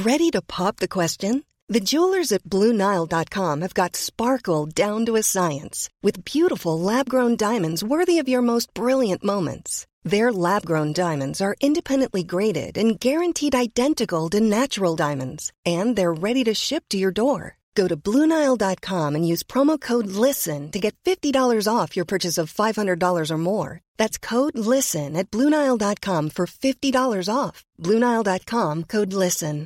Ready to pop the question? The jewelers at BlueNile.com have got sparkle down to a science with beautiful lab-grown diamonds worthy of your most brilliant moments. Their lab-grown diamonds are independently graded and guaranteed identical to natural diamonds, and they're ready to ship to your door. Go to BlueNile.com and use promo code LISTEN to get $50 off your purchase of $500 or more. That's code LISTEN at BlueNile.com for $50 off. BlueNile.com, code LISTEN.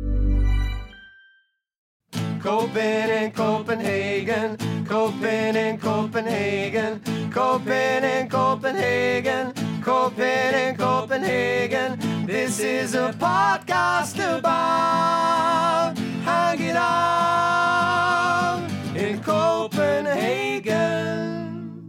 Copen in Copenhagen, Copen in Copenhagen, Copen in Copenhagen, Copen in Copenhagen. This is a podcast about hanging out in Copenhagen.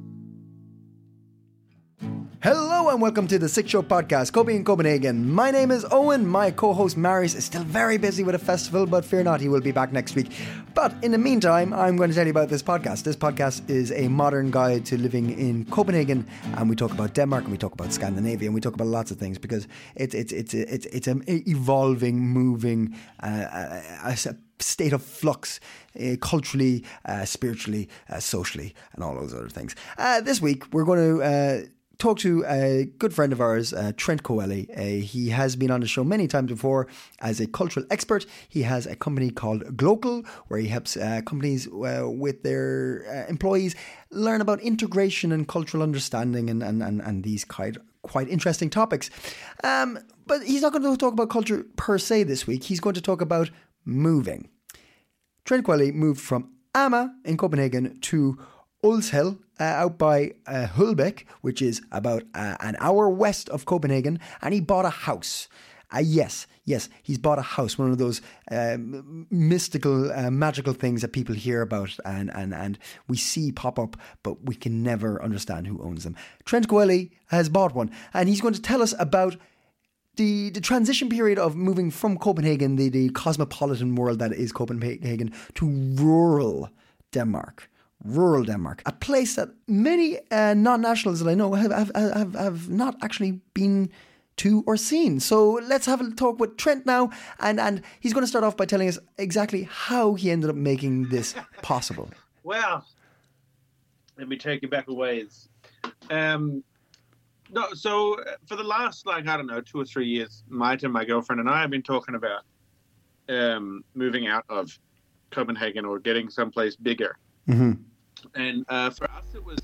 Hello and welcome to the Sick Show podcast, Copen in Copenhagen. My name is Owen. My co-host Marius is still very busy with a festival, but fear not, he will be back next week. But in the meantime, I'm going to tell you about this podcast. This podcast is a modern guide to living in Copenhagen, and we talk about Denmark, and we talk about Scandinavia, and we talk about lots of things because it's an evolving, moving, state of flux, culturally, spiritually, socially, and all those other things. This week, we're going to talk to a good friend of ours, Trent Coeli. He has been on the show many times before as a cultural expert. He has a company called Glocal, where he helps companies with their employees learn about integration and cultural understanding and these quite interesting topics. But he's not going to talk about culture per se this week. He's going to talk about moving. Trent Coeli moved from Amager in Copenhagen to Ulshill, out by Hulbæk, which is about an hour west of Copenhagen, and he bought a house. Yes, he's bought a house, one of those mystical, magical things that people hear about and we see pop up, but we can never understand who owns them. Trent Coeli has bought one, and he's going to tell us about the transition period of moving from Copenhagen, the cosmopolitan world that is Copenhagen, to rural Denmark. Rural Denmark, a place that many non-nationals that I know have not actually been to or seen. So let's have a talk with Trent now, and he's going to start off by telling us exactly how he ended up making this possible. Well, let me take you back a ways. So for the last 2 or 3 years, my girlfriend and I have been talking about moving out of Copenhagen or getting someplace bigger. Mm-hmm. And for us, it was,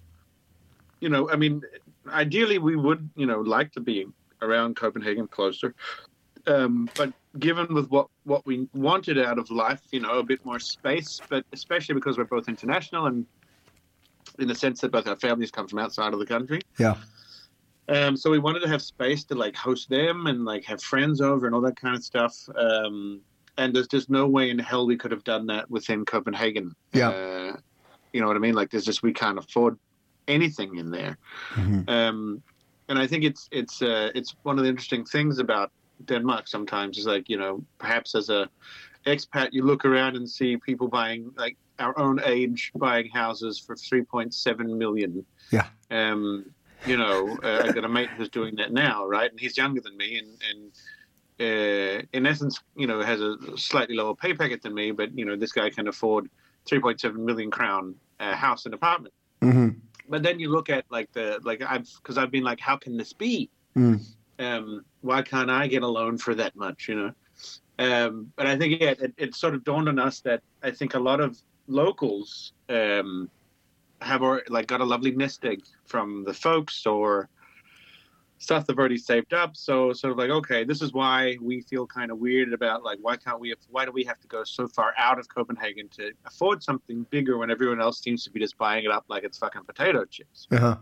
ideally we would, like to be around Copenhagen closer. But given with what we wanted out of life, a bit more space, but especially because we're both international and in the sense that both our families come from outside of the country. Yeah. So we wanted to have space to host them and have friends over and all that kind of stuff. And there's just no way in hell we could have done that within Copenhagen. Yeah. You know what I mean? We can't afford anything in there. Mm-hmm. And I think it's one of the interesting things about Denmark sometimes is perhaps as a expat, you look around and see people buying our own age buying houses for 3.7 million. Yeah. I got a mate who's doing that now, right? And he's younger than me and in essence, has a slightly lower pay packet than me, but, this guy can afford 3.7 million crown house and apartment. Mm-hmm. But then you look at because I've been how can this be? Mm. Why can't I get a loan for that much, But I think it sort of dawned on us that I think a lot of locals have got a lovely nest egg from the folks or stuff they've already saved up. So sort of okay, this is why we feel kind of weird about why do we have to go so far out of Copenhagen to afford something bigger when everyone else seems to be just buying it up like it's fucking potato chips. Uh-huh.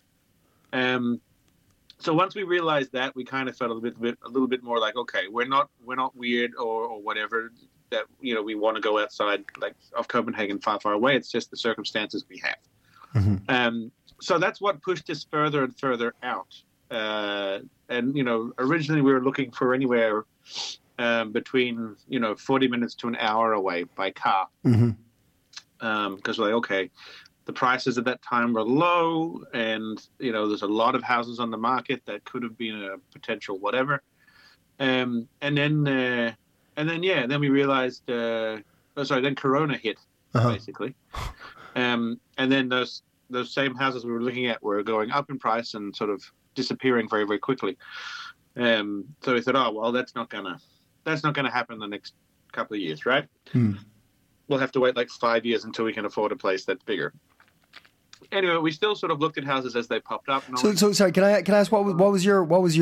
So once we realized that, we kind of felt a little bit more okay, we're not weird or whatever that we want to go outside of Copenhagen far away. It's just the circumstances we have. Mm-hmm. So that's what pushed us further and further out. And originally we were looking for anywhere between 40 minutes to an hour away by car. Mm-hmm. Because okay, the prices at that time were low, and there's a lot of houses on the market that could have been a potential whatever. And then And then we realized, then Corona hit, basically. And then those same houses we were looking at were going up in price and sort of disappearing very, very quickly. So we thought, oh, well, that's not gonna happen in the next couple of years, right? We'll have to wait like 5 years until we can afford a place that's bigger. Anyway, we still sort of looked at houses as they popped up. So sorry, can I ask what was your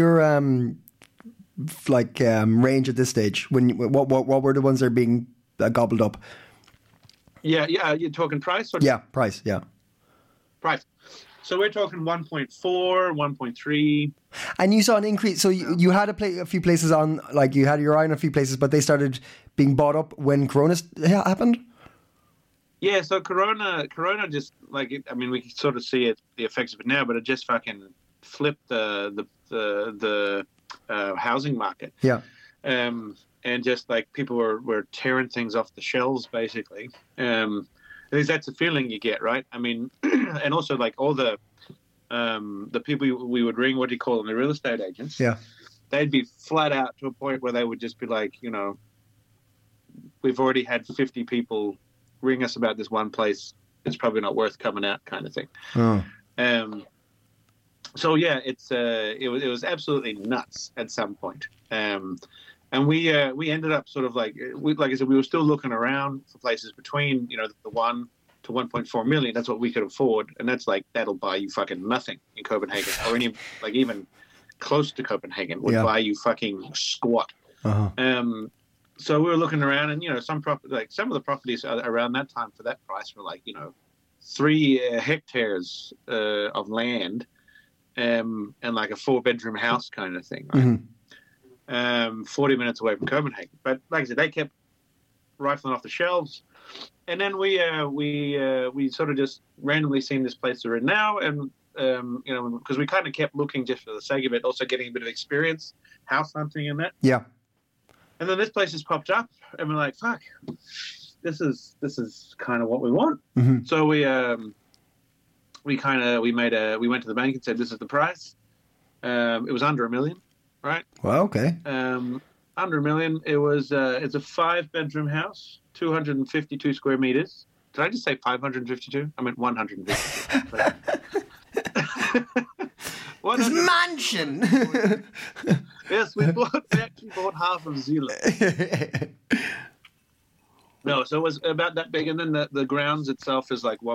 range at this stage? What were the ones that are being gobbled up? Yeah, you're talking price? Price, yeah. Price. So we're talking 1.4, 1.3. And you saw an increase. So you had a few places on, like you had your eye on a few places, but they started being bought up when Corona happened? Yeah, so Corona just, like, we can sort of see the effects of it now, but it just fucking flipped the housing market. Yeah. And just like people were tearing things off the shelves, basically. At least that's the feeling you get, right? I mean, and also like all the people we would ring, what do you call them, the real estate agents? Yeah. They'd be flat out to a point where they would just be like, we've already had 50 people ring us about this one place. It's probably not worth coming out, kind of thing. Oh. So yeah, it was absolutely nuts at some point. And we ended up sort of like I said, we were still looking around for places between, the 1 to 1.4 million. That's what we could afford. And that's like, that'll buy you fucking nothing in Copenhagen, or even close to Copenhagen would buy you fucking squat. Uh-huh. So we were looking around, and, some of the properties around that time for that price were like, 3 hectares of land, and like a 4-bedroom house kind of thing. Right? Mm-hmm. 40 minutes away from Copenhagen. But like I said, they kept rifling off the shelves. And then we sort of just randomly seen this place we're in now. And, because we kind of kept looking just for the sake of it, also getting a bit of experience, house hunting and that. Yeah. And then this place has popped up and we're like, fuck, this is kind of what we want. Mm-hmm. So we went to the bank and said, this is the price. It was under $1 million. Right. Well, okay. Under $1 million. It was. It's a 5-bedroom house, 252 square meters. Did I just say 552? I meant 152. This mansion. Yes, we actually bought half of Zealand. No, so it was about that big, and then the grounds itself is like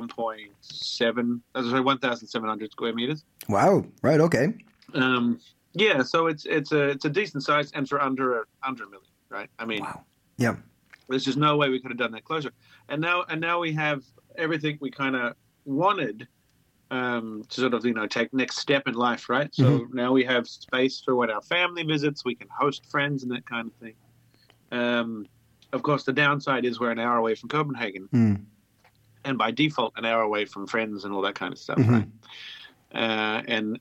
1,700 square meters. Wow. Right. Okay. Yeah, so it's a decent size, and for under $1 million, right? I mean, wow. Yeah. There's just no way we could have done that closer. And now we have everything we kind of wanted to sort of take next step in life, right? So now we have space for when our family visits, we can host friends and that kind of thing. Of course, the downside is we're an hour away from Copenhagen, and by default, an hour away from friends and all that kind of stuff, right? And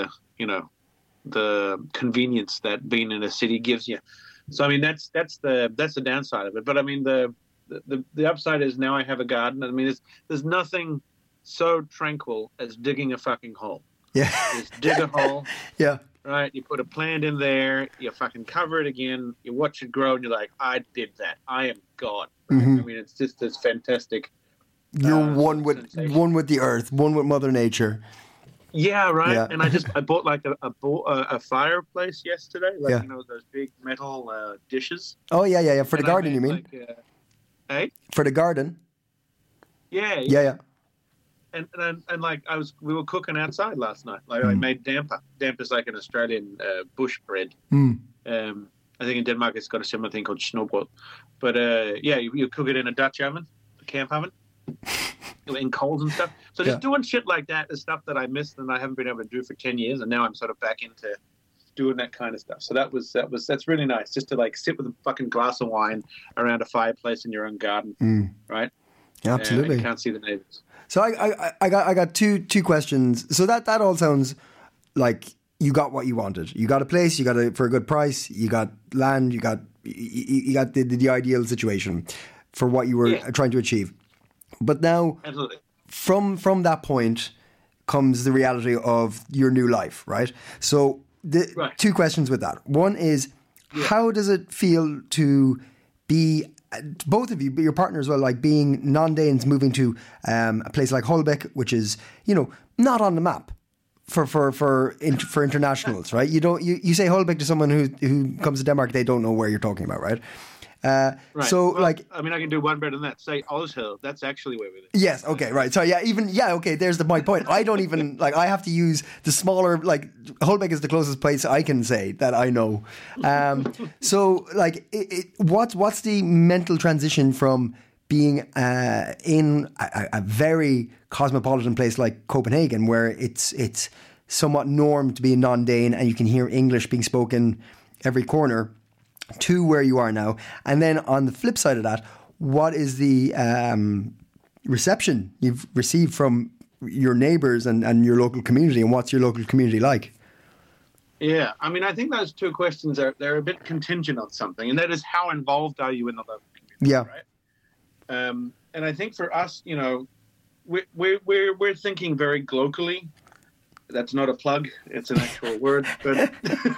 the convenience that being in a city gives you. So I mean that's the downside of it. But I mean the upside is now I have a garden. I mean there's nothing so tranquil as digging a fucking hole. Yeah. Just dig a hole. Yeah. Right. You put a plant in there. You fucking cover it again. You watch it grow, and you're like, I did that. I am God. Right? I mean it's just this fantastic. You're one with the earth, one with Mother Nature. Yeah, right. Yeah. And I bought like a fireplace yesterday, like those big metal dishes. Oh yeah. For the garden, you mean? Hey? For the garden. Yeah. Yeah. And like we were cooking outside last night. Like I made damper. Damper's like an Australian bush bread. I think in Denmark it's got a similar thing called snobrød. But you cook it in a Dutch oven, a camp oven. In coals and stuff. So just doing shit like that is stuff that I missed and I haven't been able to do for 10 years, and now I'm sort of back into doing that kind of stuff. So that's really nice, just to like sit with a fucking glass of wine around a fireplace in your own garden, right? Yeah, absolutely. And you can't see the neighbors. So I got two questions. So that all sounds like you got what you wanted. You got a place, you got it for a good price, you got land, you got the ideal situation for what you were trying to achieve. But now, absolutely, from that point comes the reality of your new life, right? So two questions with that. One is, How does it feel to be, both of you, but your partner as well, like being non-Danes moving to a place like Holbeck, which is, not on the map for internationals, right? You say Holbeck to someone who comes to Denmark, they don't know where you're talking about, right? Right. So, well, like, I mean, I can do one better than that. Say Oshill. That's actually where we live. Yes. Okay. Right. So okay. There's my point. I don't even I have to use the smaller, like, Holbeck is the closest place I can say that I know. So, like, what's the mental transition from being in a very cosmopolitan place like Copenhagen, where it's somewhat norm to be a non-Dane and you can hear English being spoken every corner, to where you are now? And then on the flip side of that, what is the reception you've received from your neighbours and your local community, and what's your local community like? Yeah, I mean, I think those two questions they're a bit contingent on something, and that is how involved are you in the local community? Yeah. Right. And I think for us, we're thinking very globally. That's not a plug; it's an actual word, but.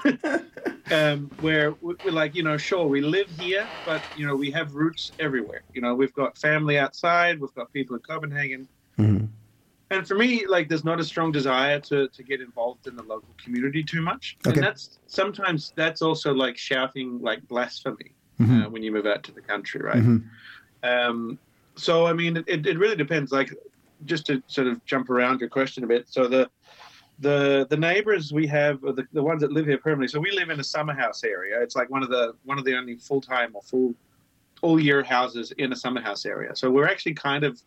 Where we're like, sure, we live here, but, we have roots everywhere. We've got family outside, we've got people in Copenhagen. Mm-hmm. And for me, like, there's not a strong desire to get involved in the local community too much. Okay. And sometimes that's also like shouting like blasphemy when you move out to the country, right? Mm-hmm. So, I mean, it really depends. Like, just to sort of jump around your question a bit. So the neighbors we have are the ones that live here permanently. So we live in a summer house area. It's like one of the only full-time or full all-year houses in a summer house area. So we're actually kind of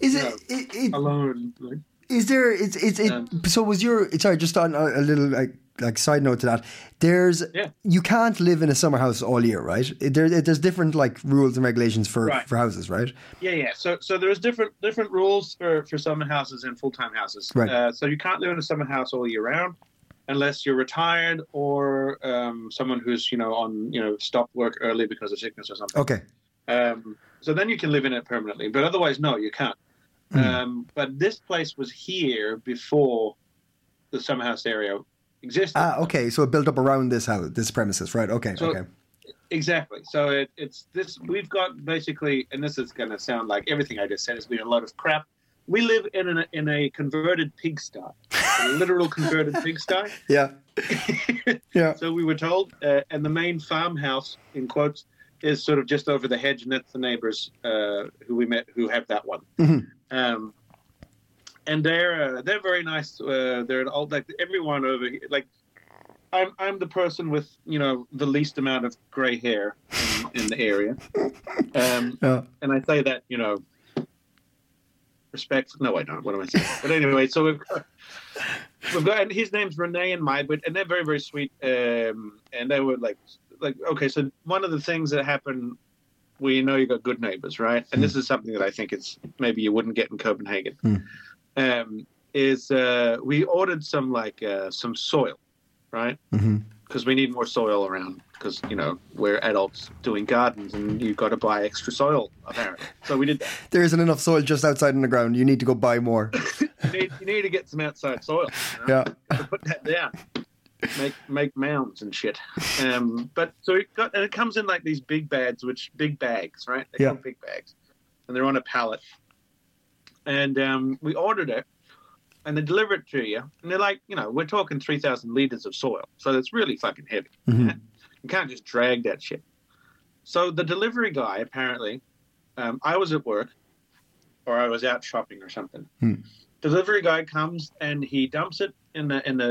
alone. Is there? So was your? Sorry, just on a little like side note to that. You can't live in a summer house all year, right? There's different like rules and regulations for houses, right? Yeah. So there's different rules for summer houses and full-time houses. Right. So you can't live in a summer house all year round unless you're retired or someone who's on stopped work early because of sickness or something. Okay. So then you can live in it permanently, but otherwise, no, you can't. But this place was here before the summer house area existed. Okay. So it built up around this premises, right? Okay. Okay. Exactly. So it's this. We've got basically, and this is going to sound like everything I just said has been a lot of crap. We live in a converted pigsty, a literal converted pigsty. Yeah. Yeah. So we were told, and the main farmhouse, in quotes, is sort of just over the hedge, and that's the neighbors who we met who have that one. Mm-hmm. And they're very nice. They're an old, like everyone over here. Like I'm the person with the least amount of gray hair in the area, and I say that respect. No, I don't. What am I saying? But anyway, so we've got, and his name's Renee and Maibrit, and they're very, very sweet. And they were like okay. So one of the things that happened, you got good neighbors, right? And this is something that I think it's maybe you wouldn't get in Copenhagen. Is we ordered some soil, right? Because we need more soil around. Because we're adults doing gardens, and you've got to buy extra soil apparently. So we did that. There isn't enough soil just outside in the ground. You need to go buy more. you need to get some outside soil. Yeah. To put that down. Make mounds and shit. But so it comes in like these big bags, right? They're called big bags, and they're on a pallet. And we ordered it, and they deliver it to you, and they're like, we're talking 3,000 liters of soil, so it's really fucking heavy. Mm-hmm. You can't just drag that shit. So the delivery guy, apparently, I was at work, or I was out shopping or something. Delivery guy comes and he dumps it in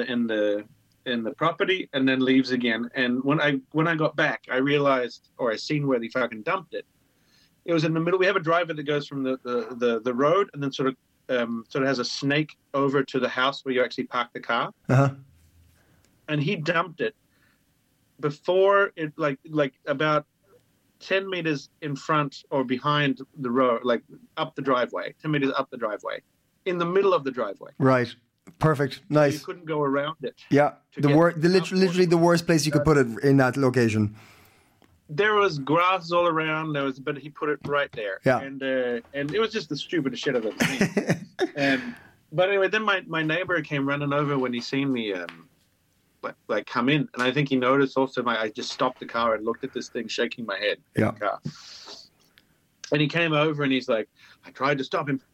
the property and then leaves again. And when I got back, I realized, or I seen where he fucking dumped it. It was in the middle. We have a driveway that goes from the road and then sort of has a snake over to the house where you actually park the car. Uh-huh. And he dumped it before it, like about 10 meters in front or behind the road, like up the driveway, 10 meters up the driveway, in the middle of the driveway. Right. Perfect. Nice. So you couldn't go around it. Yeah. Literally the worst place you could put it in that location. There was grass all around. But he put it right there. Yeah. And it was just the stupidest shit I've ever seen. But anyway, then my neighbor came running over when he seen me, like come in, and I think he noticed also I just stopped the car and looked at this thing, shaking my head in the car. And he came over and he's like, I tried to stop him.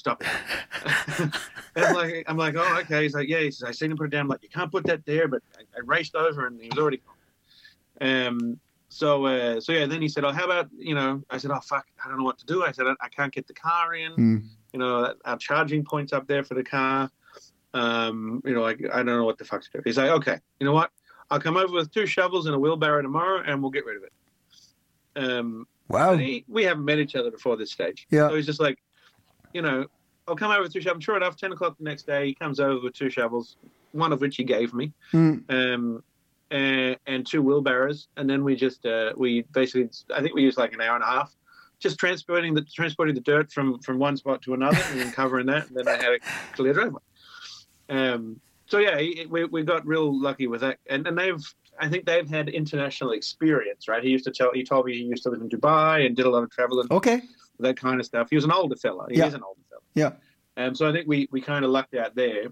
And I'm like, oh, okay. He's like, yeah. He says, I seen him put it down. I'm like, you can't put that there. But I raced over and he was already gone. So yeah. Then he said, oh, how about, I said, oh, fuck, I don't know what to do. I said, I can't get the car in. Our charging point's up there for the car. I don't know what the fuck to do. He's like, okay, you know what? I'll come over with 2 shovels and a wheelbarrow tomorrow and we'll get rid of it. Wow. We haven't met each other before this stage. Yeah. So he's just like, I'll come over with 2 shovels. Sure enough, 10 o'clock the next day, he comes over with 2 shovels, one of which he gave me, and 2 wheelbarrows. And then we just, I think we used like an hour and a half, just transporting the dirt from one spot to another and then covering that. And then I had a clear driveway. So yeah, we got real lucky with that. And I think they've had international experience, right? He told me he used to live in Dubai and did a lot of traveling. Okay. That kind of stuff. He was an older fella. He is an older fella. Yeah. So I think we kind of lucked out there.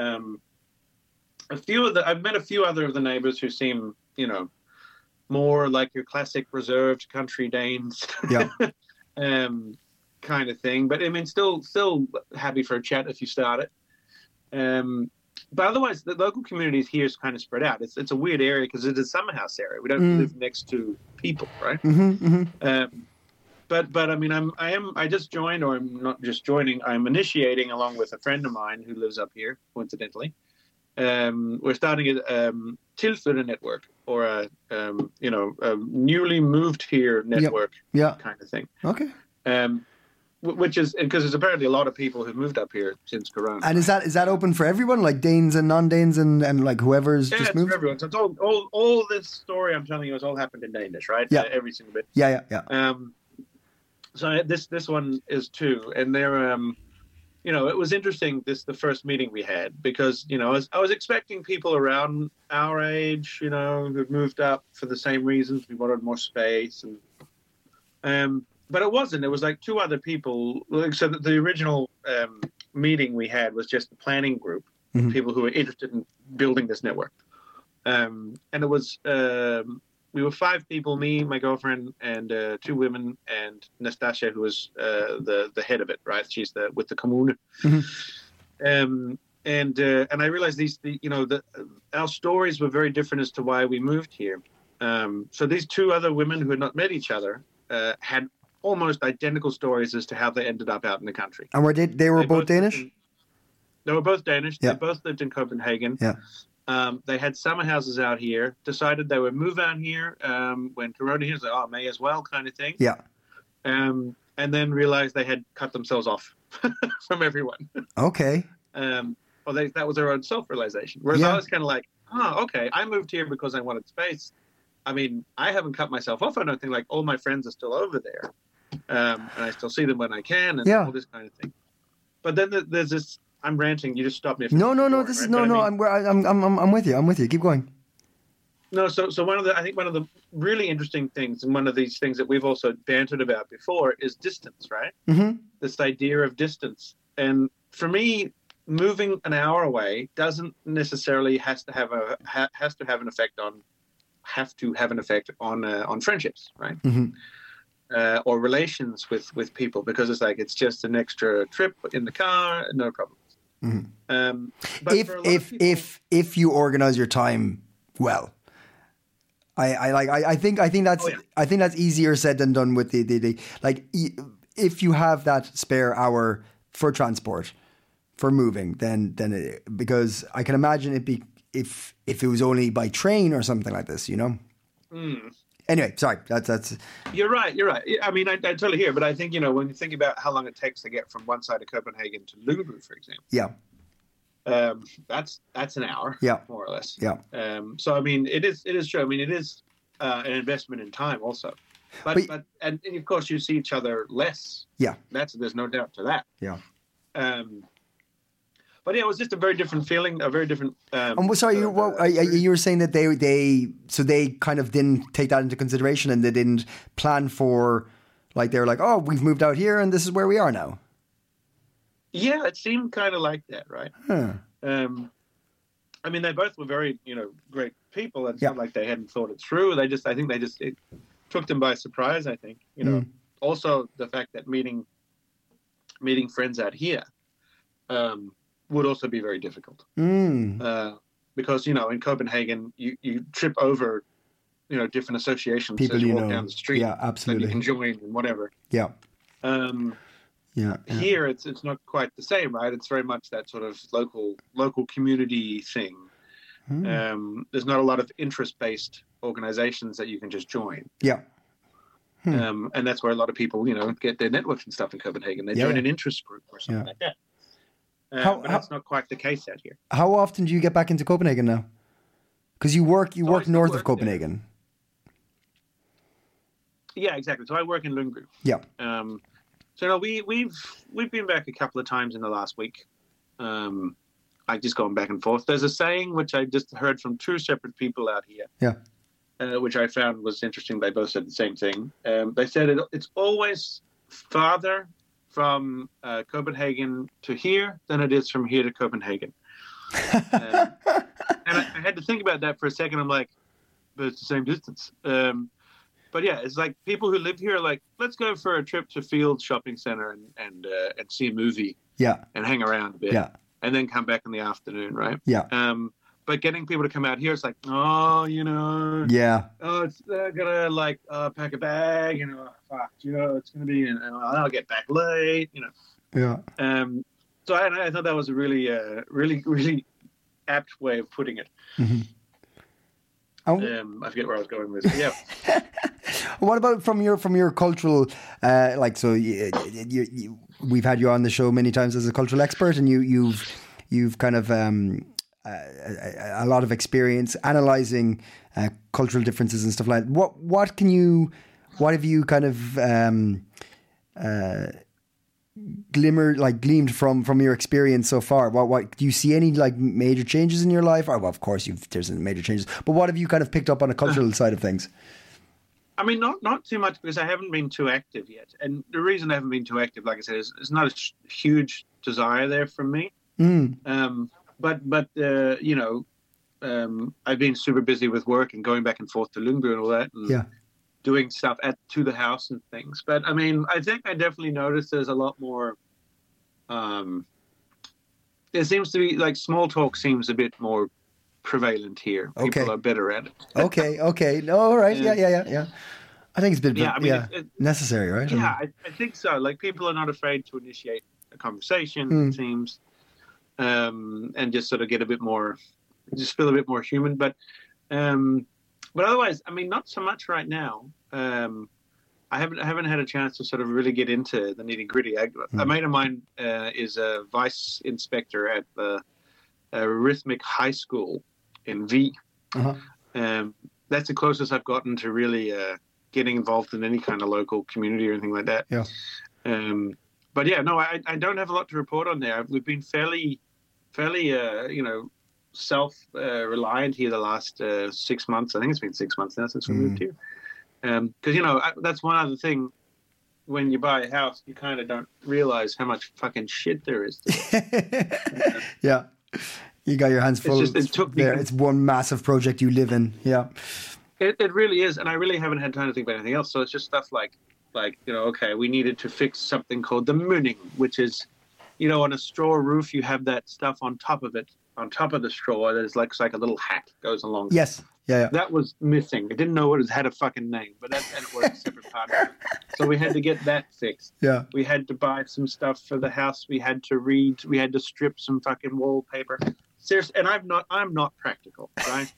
I've met a few other of the neighbors who seem, more like your classic reserved country Danes. Yeah. Kind of thing. But I mean, still happy for a chat if you start it. But otherwise, the local communities here is kind of spread out. It's a weird area because it's a summer house area. We don't live next to people, right? But I mean, I just joined, or I'm not just joining. I'm initiating along with a friend of mine who lives up here, coincidentally. We're starting a Tilføre network, or a newly moved here network, kind of thing. Okay. Which is because there's apparently a lot of people who've moved up here since Corona. And is that open for everyone, like Danes and non-Danes and like whoever's just moved? Yeah, for everyone. So it's all this story I'm telling you has all happened in Danish, right? Yeah. Every single bit. Yeah. So this one is too, and they're it was interesting. The first meeting we had because I was expecting people around our age, who'd moved up for the same reasons. We wanted more space and. But it wasn't. It was like 2 other people. So the original meeting we had was just the planning group, people who were interested in building this network. And it was, we were 5 people, me, my girlfriend, and 2 women, and Nastasia, who was the head of it, right? She's with the commune. And I realized our stories were very different as to why we moved here. So these 2 other women who had not met each other had almost identical stories as to how they ended up out in the country. And they were both Danish? They were both Danish. Yeah. They both lived in Copenhagen. Yeah. They had summer houses out here, decided they would move out here when Corona hit, like, may as well kind of thing. Yeah. And then realized they had cut themselves off from everyone. Okay. That was their own self-realization. Whereas I was kind of like, okay, I moved here because I wanted space. I mean, I haven't cut myself off. I don't think all my friends are still over there. And I still see them when I can and all this kind of thing. But then there's this, I'm ranting. You just stop me. No. This is I'm with you. I'm with you. Keep going. No. So I think one of the really interesting things, and one of these things that we've also bantered about before, is distance, right? This idea of distance. And for me, moving an hour away doesn't necessarily have to have an effect on friendships, right? Or relations with people, because it's just an extra trip in the car, no problem. But if you organize your time well, I think that's I think that's easier said than done with the if you have that spare hour for transport, for moving, then because I can imagine if it was only by train or something like this, Anyway, sorry, that's. You're right. I mean, I totally hear, but I think when you think about how long it takes to get from one side of Copenhagen to Lyngby, for example. Yeah. That's an hour. Yeah. More or less. Yeah. So I mean, it is true. I mean, it is an investment in time also, but and of course you see each other less. Yeah. There's no doubt to that. Yeah. But yeah, it was just a very different feeling, a very different. Sorry, you were saying that they kind of didn't take that into consideration, and they didn't plan for, they were like, oh, we've moved out here, and this is where we are now. Yeah, it seemed kind of like that, right? Huh. I mean, they both were very, great people. It's Yeah. not like they hadn't thought it through. I think it took them by surprise. I think, Also the fact that meeting friends out here would also be very difficult. Because, in Copenhagen, you trip over, different associations People as you walk down the street. Yeah, absolutely. That you can join and whatever. Yeah. Yeah. Here, it's not quite the same, right? It's very much that sort of local community thing. There's not a lot of interest-based organizations that you can just join. Yeah. And that's where a lot of people, get their networks and stuff in Copenhagen. They join an interest group or something like that. But that's not quite the case out here. How often do you get back into Copenhagen now? Because you work north of Copenhagen. Yeah, exactly. So I work in Lyngby. Yeah. So we've been back a couple of times in the last week. I just going back and forth. There's a saying which I just heard from two separate people out here. Yeah. Which I found was interesting. They both said the same thing. They said it's always farther from Copenhagen to here than it is from here to Copenhagen. And I had to think about that for a second. I'm like, but it's the same distance. But yeah, it's like people who live here are like, let's go for a trip to Field Shopping Center and see a movie. Yeah. And hang around a bit. Yeah. And then come back in the afternoon, right? Yeah. But getting people to come out here, it's like, yeah. Oh, it's gonna pack a bag, fuck, it's gonna be, I'll get back late, Yeah. So I thought that was a really, really, really apt way of putting it. Mm-hmm. I forget where I was going with it. Yeah. What about from your cultural, we've had you on the show many times as a cultural expert, and you've kind of a lot of experience analyzing cultural differences and stuff like that. What have you kind of gleamed from your experience so far? What do you see any major changes in your life? Well, of course there's major changes, but what have you kind of picked up on a cultural side of things? I mean, not too much, because I haven't been too active yet. And the reason I haven't been too active, like I said, is it's not a huge desire there from me. But I've been super busy with work and going back and forth to Lyngby and all that, and doing stuff to the house and things. But I mean, I think I definitely noticed there's a lot more. There seems to be small talk seems a bit more prevalent here. People are better at it. Okay. No, all right. Yeah. I think it's been necessary, right? Yeah, I think so. People are not afraid to initiate a conversation, it seems, and just sort of get just feel a bit more human. But otherwise, I mean, not so much right now. I haven't had a chance to sort of really get into the nitty gritty. A mate of mine is a vice inspector at the Rhythmic High School in V. That's the closest I've gotten to really getting involved in any kind of local community or anything like that. Yeah. But yeah, no, I don't have a lot to report on there. We've been fairly, self-reliant here the last 6 months. I think it's been 6 months now since we moved here. Because, that's one other thing. When you buy a house, you kind of don't realize how much fucking shit there is. Yeah. You got your hands full. It's one massive project you live in. Yeah. It really is. And I really haven't had time to think about anything else. So it's just stuff like, okay, we needed to fix something called the mooning, which is, on a straw roof, you have that stuff on top of it, on top of the straw. That is like a little hat goes along. Yes. Yeah. That was missing. I didn't know it had a fucking name, but and it was a separate part of it. So we had to get that fixed. Yeah. We had to buy some stuff for the house. We had to strip some fucking wallpaper. Seriously, and I'm not practical, right?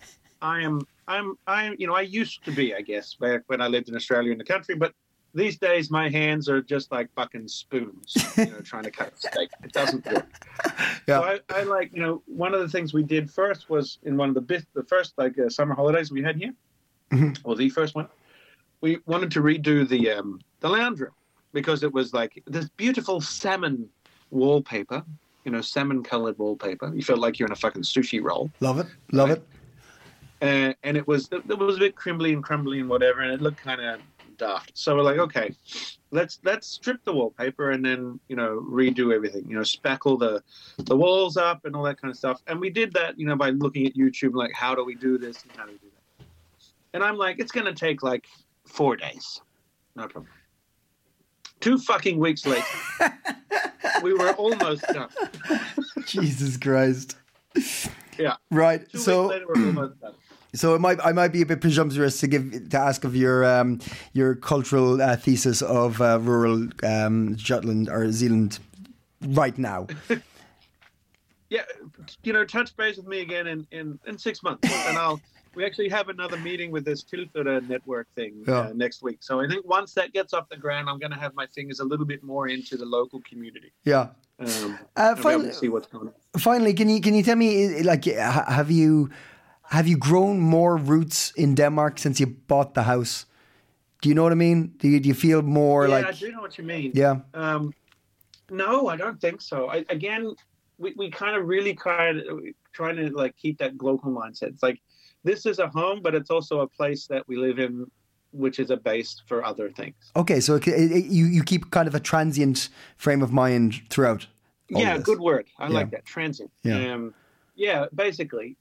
I used to be, I guess, back when I lived in Australia in the country, but these days my hands are just like fucking spoons, trying to cut a steak. It doesn't work. Yeah. So I one of the things we did first was in one of the first summer holidays we had here, or the first one, we wanted to redo the lounge room because it was this beautiful salmon wallpaper, salmon-colored wallpaper. You felt like you're in a fucking sushi roll. Love it. And it was a bit crimbly and crumbly and whatever, and it looked kind of daft. So we're like, okay, let's strip the wallpaper and then, you know, redo everything, you know, spackle the walls up and all that kind of stuff. And we did that, you know, by looking at YouTube, like, how do we do this and how do we do that? And I'm like, it's going to take like 4 days. No problem. 2 fucking weeks later, we were almost done. Jesus Christ. Yeah. Right. 2 So weeks later, we're almost done. So I might be a bit presumptuous to ask of your cultural thesis of rural Jutland or Zealand right now. Yeah, you know, touch base with me again in 6 months, and we actually have another meeting with this Tilføre network thing next week. So I think once that gets off the ground, I'm going to have my fingers a little bit more into the local community. Yeah. Finally, see what's going on. Finally, can you tell me, like, have you grown more roots in Denmark since you bought the house? Do you know what I mean? Do you feel more like? Yeah, I do know what you mean. Yeah. No, I don't think so. We kind of trying to like keep that local mindset. It's like, this is a home, but it's also a place that we live in, which is a base for other things. Okay, so you keep kind of a transient frame of mind throughout. Yeah, good word. I like that, transient. Yeah, basically.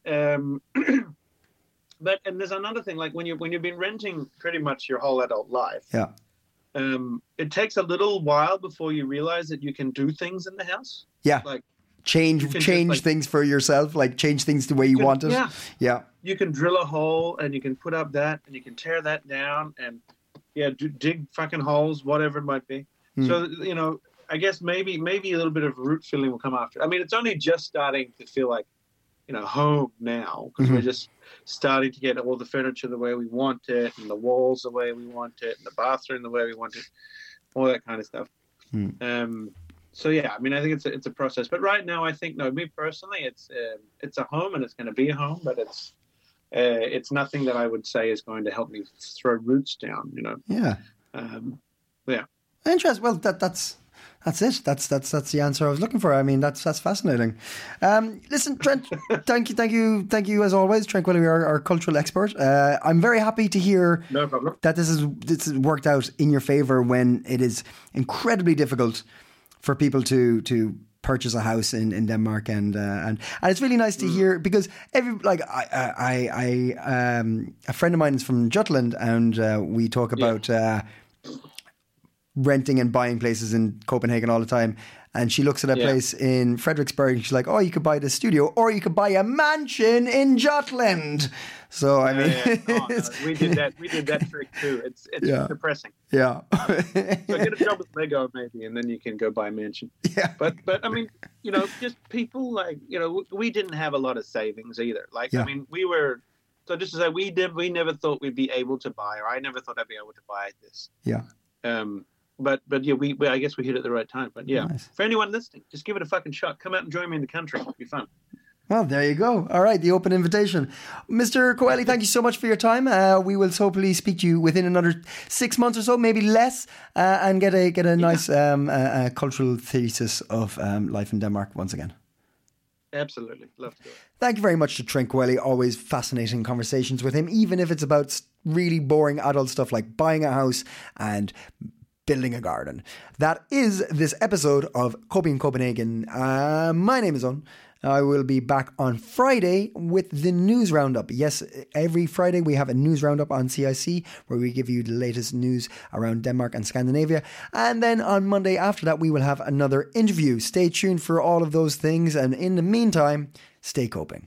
But there's another thing, like when you've been renting pretty much your whole adult life. Yeah. It takes a little while before you realize that you can do things in the house. Yeah. Like change things for yourself, like change things the way you want it. Yeah. You can drill a hole and you can put up that and you can tear that down and dig fucking holes, whatever it might be. So, you know, I guess maybe a little bit of root filling will come after. I mean, it's only just starting to feel like, you know, home now, because we're just starting to get all the furniture the way we want it, and the walls the way we want it, and the bathroom the way we want it, all that kind of stuff. So yeah, I mean, I think it's a process. But right now, I think, no, me personally, it's a home and it's going to be a home, but it's nothing that I would say is going to help me throw roots down. You know. Yeah. Yeah. Interesting. Well, that's it. That's the answer I was looking for. I mean, that's fascinating. Listen, Trent, thank you as always, Trent Quilly, our cultural expert. I'm very happy to hear that this has worked out in your favor when it is incredibly difficult for people to purchase a house in Denmark, and it's really nice to hear, because a friend of mine is from Jutland, and we talk about renting and buying places in Copenhagen all the time, and she looks at a place in Frederiksberg and she's like, oh, you could buy the studio, or you could buy a mansion in Jutland. So I mean, we did that trick too. It's depressing. Yeah. So get a job with Lego maybe, and then you can go buy a mansion. Yeah. But I mean, you know, just people, like, you know, we didn't have a lot of savings either. Like, I mean, so just to say, we never thought we'd be able to buy, or I never thought I'd be able to buy this. Yeah. But yeah, we I guess we hit it at the right time. But yeah, nice. For anyone listening, just give it a fucking shot. Come out and join me in the country. It'll be fun. Well, there you go. All right, the open invitation. Mr. Coeli, thank you so much for your time. We will hopefully speak to you within another 6 months or so, maybe less, and get a nice cultural thesis of life in Denmark once again. Absolutely. Love to do it. Thank you very much to Trent Coeli. Always fascinating conversations with him, even if it's about really boring adult stuff like buying a house and building a garden. That is this episode of Coping Copenhagen. My name is Owen. I will be back on Friday with the news roundup. Yes, every Friday we have a news roundup on CIC where we give you the latest news around Denmark and Scandinavia. And then on Monday after that, we will have another interview. Stay tuned for all of those things. And in the meantime, stay coping.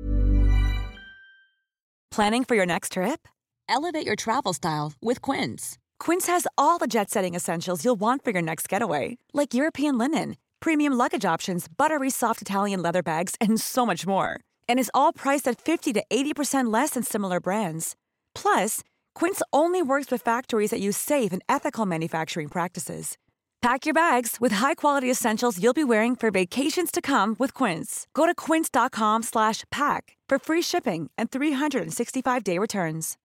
Planning for your next trip? Elevate your travel style with Quince. Quince has all the jet-setting essentials you'll want for your next getaway, like European linen, premium luggage options, buttery soft Italian leather bags, and so much more. And is all priced at 50 to 80% less than similar brands. Plus, Quince only works with factories that use safe and ethical manufacturing practices. Pack your bags with high-quality essentials you'll be wearing for vacations to come with Quince. Go to quince.com/pack for free shipping and 365-day returns.